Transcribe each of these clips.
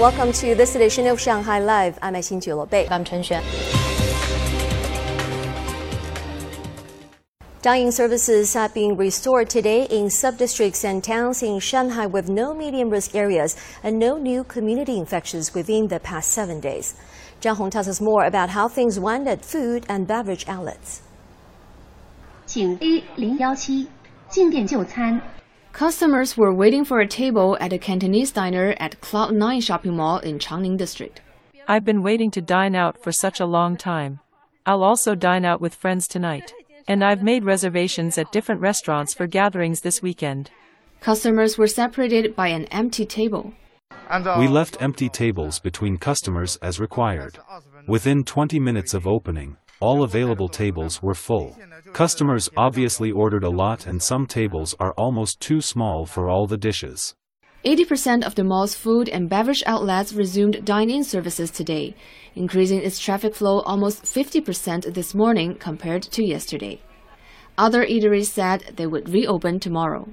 welcome to this edition of Shanghai Live. I'm Xin Bei. I'm Chen Xuan. Dining services have been restored today in sub-districts and towns in Shanghai with no medium-risk areas and no new community infections within the past 7 days. Zhang Hong tells us more about how things went at food and beverage outlets. 请 A017 进店就餐。 Customers were waiting for a table at a Cantonese diner at Cloud9 shopping mall in Changning District. I've been waiting to dine out for such a long time. I'll also dine out with friends tonight. And I've made reservations at different restaurants for gatherings this weekend. Customers were separated by an empty table. We left empty tables between customers as required. Within 20 minutes of opening, all available tables were full. Customers obviously ordered a lot and some tables are almost too small for all the dishes. 80% of the mall's food and beverage outlets resumed dine-in services today, increasing its traffic flow almost 50% this morning compared to yesterday. Other eateries said they would reopen tomorrow.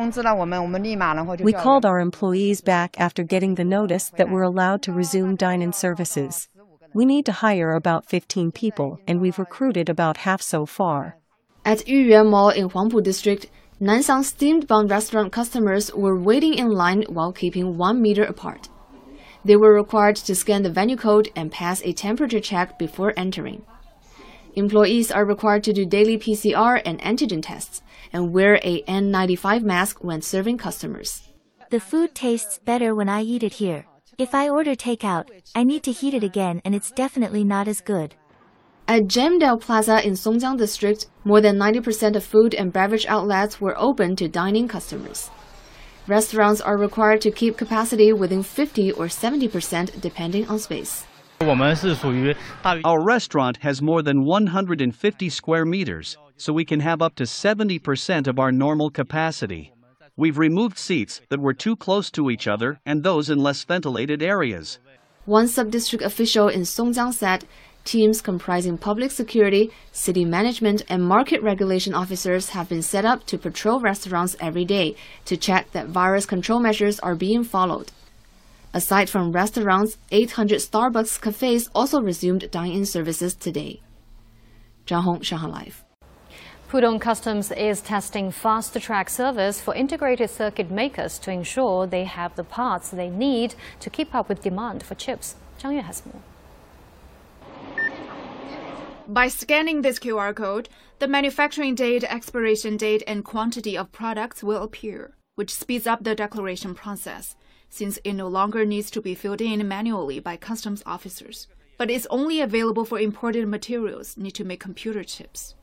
We called our employees back after getting the notice that we're allowed to resume dine-in services. We need to hire about 15 people, and we've recruited about half so far. At Yuyuan Mall in Huangpu District, Nansang Steamed Bun restaurant customers were waiting in line while keeping 1 meter apart. They were required to scan the venue code and pass a temperature check before entering. Employees are required to do daily PCR and antigen tests and wear a N95 mask when serving customers. The food tastes better when I eat it here. If I order takeout, I need to heat it again and it's definitely not as good. At Gemdale Plaza in Songjiang District, more than 90% of food and beverage outlets were open to dining customers. Restaurants are required to keep capacity within 50 or 70% depending on space. Our restaurant has more than 150 square meters, so we can have up to 70% of our normal capacity. We've removed seats that were too close to each other and those in less ventilated areas. One sub-district official in Songjiang said teams comprising public security, city management, and market regulation officers have been set up to patrol restaurants every day to check that virus control measures are being followed. Aside from restaurants, 800 Starbucks cafes also resumed dine-in services today. Zhang Hong, Shanghai Live. Pudong Customs is testing fast-track service for integrated circuit makers to ensure they have the parts they need to keep up with demand for chips. Zhang Yue has more. By scanning this QR code, the manufacturing date, expiration date, and quantity of products will appear, which speeds up the declaration process, since it no longer needs to be filled in manually by customs officers. But it's only available for imported materials need to make computer chips.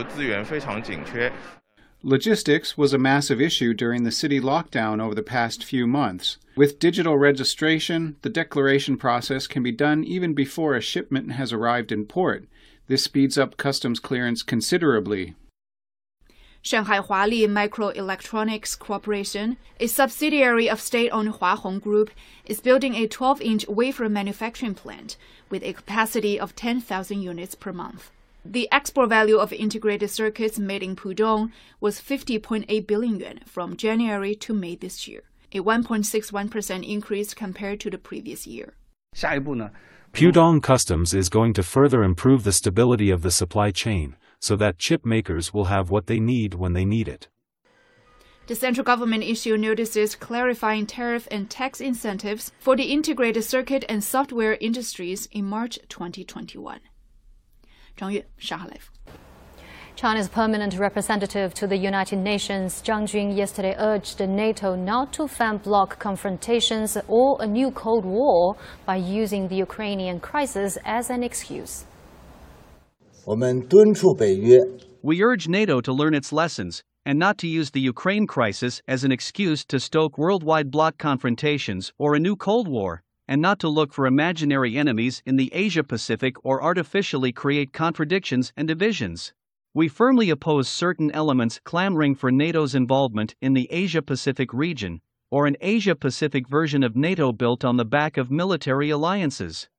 Logistics was a massive issue during the city lockdown over the past few months. With digital registration, the declaration process can be done even before a shipment has arrived in port. This speeds up customs clearance considerably. Shanghai Huali Microelectronics Corporation, a subsidiary of state-owned Hua Hong Group, is building a 12-inch wafer manufacturing plant with a capacity of 10,000 units per month. The export value of integrated circuits made in Pudong was 50.8 billion yuan from January to May this year, a 1.61% increase compared to the previous year. Pudong Customs is going to further improve the stability of the supply chain, so that chip makers will have what they need when they need it. The central government issued notices clarifying tariff and tax incentives for the integrated circuit and software industries in March 2021. Zhang Yue, Shanghai Live. China's permanent representative to the United Nations, Zhang Jun, yesterday urged NATO not to fan bloc confrontations or a new Cold War by using the Ukrainian crisis as an excuse. We urge NATO to learn its lessons and not to use the Ukraine crisis as an excuse to stoke worldwide bloc confrontations or a new Cold War, and not to look for imaginary enemies in the Asia-Pacific or artificially create contradictions and divisions. We firmly oppose certain elements clamoring for NATO's involvement in the Asia-Pacific region, or an Asia-Pacific version of NATO built on the back of military alliances.